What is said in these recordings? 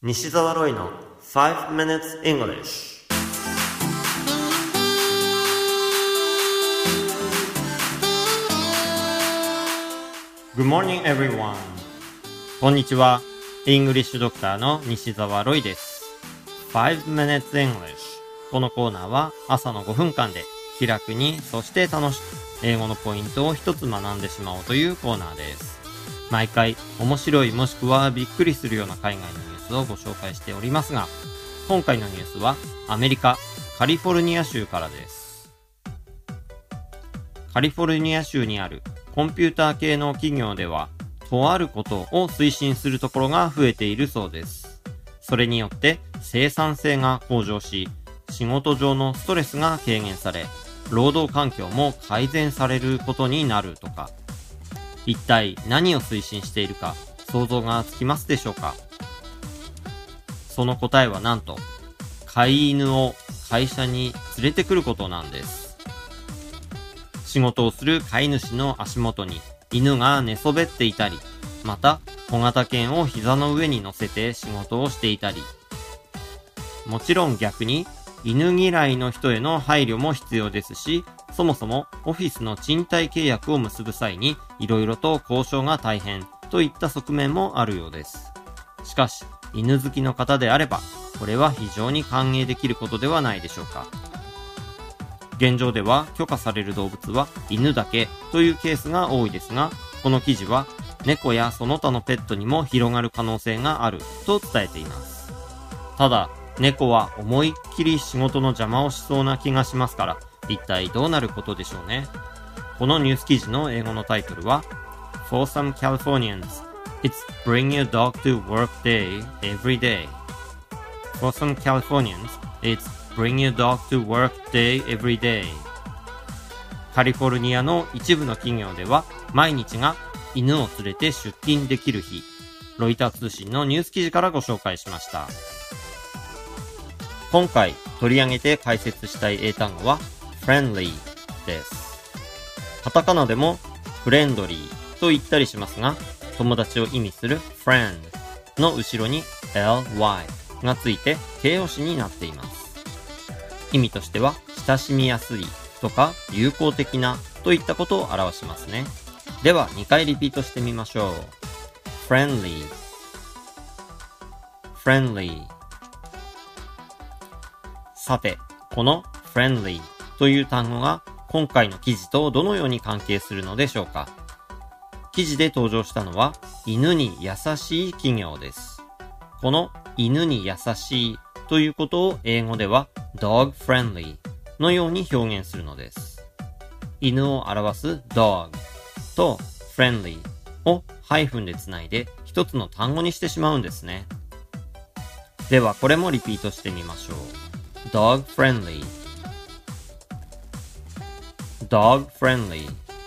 西澤ロイの5 minutes English。Good morning everyone。こんにちは。イングリッシュドクターの西澤ロイです。5 minutes English。このコーナーは朝の5分間で気楽に、そして楽しく英語のポイントを一つ学んでしまおうというコーナーです。毎回面白いもしくはびっくりするような海外のニュースをご紹介しておりますが、今回のニュースはアメリカカリフォルニア州からです。カリフォルニア州にあるコンピューター系の企業では、とあることを推進するところが増えているそうです。それによって生産性が向上し、仕事上のストレスが軽減され、労働環境も改善されることになるとか。一体何を推進しているか想像がつきますでしょうか？その答えはなんと、飼い犬を会社に連れてくることなんです。仕事をする飼い主の足元に犬が寝そべっていたり、また小型犬を膝の上に乗せて仕事をしていたり、もちろん逆に犬嫌いの人への配慮も必要ですし、そもそもオフィスの賃貸契約を結ぶ際に色々と交渉が大変といった側面もあるようです。しかし犬好きの方であれば、これは非常に歓迎できることではないでしょうか。現状では許可される動物は犬だけというケースが多いですが、この記事は猫やその他のペットにも広がる可能性があると伝えています。ただ猫は思いっきり仕事の邪魔をしそうな気がしますから、一体どうなることでしょうね。このニュース記事の英語のタイトルは For some Californians, it's bring your dog to work day every day. For some Californians, it's bring your dog to work day every day. カリフォルニアの一部の企業では毎日が犬を連れて出勤できる日。ロイター通信のニュース記事からご紹介しました。今回取り上げて解説したい英単語はfriendly です。カタカナでもフレンドリーと言ったりしますが、友達を意味する friend の後ろに ly がついて形容詞になっています。意味としては親しみやすいとか友好的なといったことを表しますね。では2回リピートしてみましょう。friendly friendly。 さて、この friendlyという単語が今回の記事とどのように関係するのでしょうか。記事で登場したのは犬に優しい企業です。この犬に優しいということを英語では dog friendly のように表現するのです。犬を表す dog と friendly をハイフンでつないで一つの単語にしてしまうんですね。ではこれもリピートしてみましょう。dog friendly dog friendly。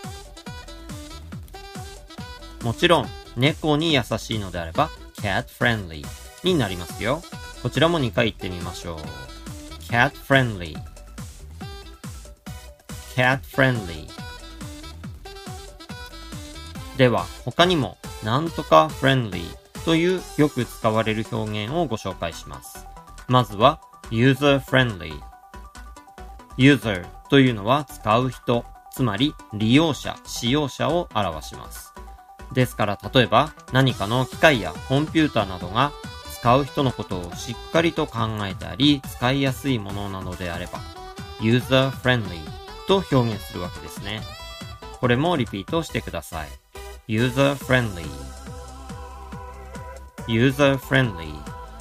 もちろん猫に優しいのであれば cat friendly になりますよ。こちらも2回言ってみましょう。 cat friendly cat friendly。 では他にもなんとか friendly というよく使われる表現をご紹介します。まずは user friendly。 userというのは使う人、つまり利用者、使用者を表します。ですから例えば何かの機械やコンピューターなどが使う人のことをしっかりと考えたり使いやすいものなのであれば user friendly と表現するわけですね。これもリピートしてください。 user friendly user friendly。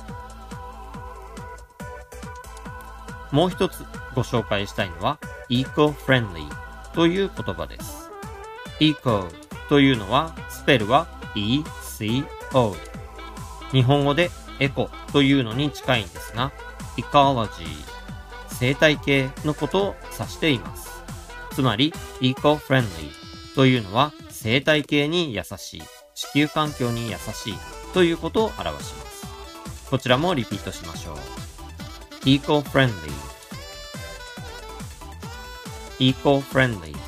もう一つご紹介したいのは eco-friendly という言葉です。 eco というのはスペルは ECO。 日本語でエコというのに近いんですが、 ecology 生態系のことを指しています。つまり eco-friendly というのは生態系に優しい、地球環境に優しいということを表します。こちらもリピートしましょう。eco-friendly eco-friendly。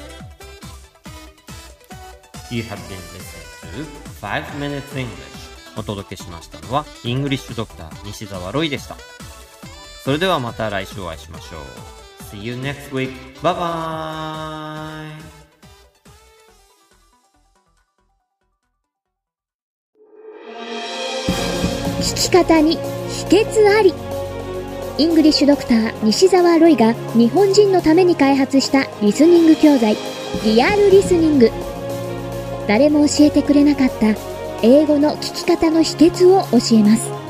You have been listening to 5 Minutes English お届けしましたのは、イングリッシュドクター西澤ロイでした。それではまた来週お会いしましょう。See you next week. Bye bye. 聞き方に秘訣あり。イングリッシュドクター西澤ロイが日本人のために開発したリスニング教材、リアルリスニング。誰も教えてくれなかった英語の聞き方の秘訣を教えます。